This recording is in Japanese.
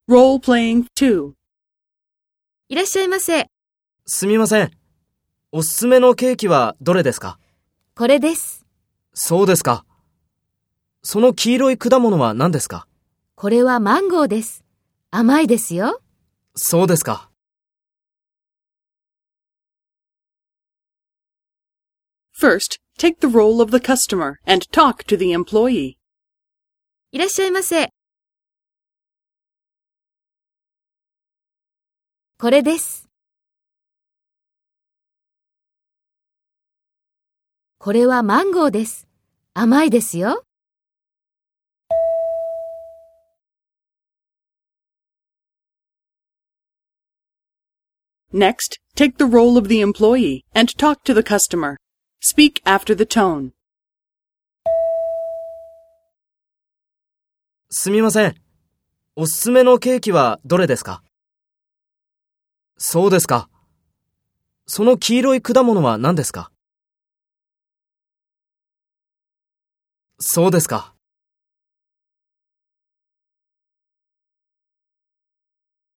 Role-playing 2. いらっしゃいませ。 すみません。おすすめのケーキはどれですか？ これです。 そうですか。その黄色い果物は何ですか？ これはマンゴーです。甘いですよ。 そうですか。 First, take the role of the customer and talk to the employee. いらっしゃいませ。これです。これはマンゴーです。甘いですよ。 Next, take the role of the employee and talk to the customer. Speak after the tone. すみません。おすすめのケーキはどれですか？そうですか。その黄色い果物は何ですか？そうですか。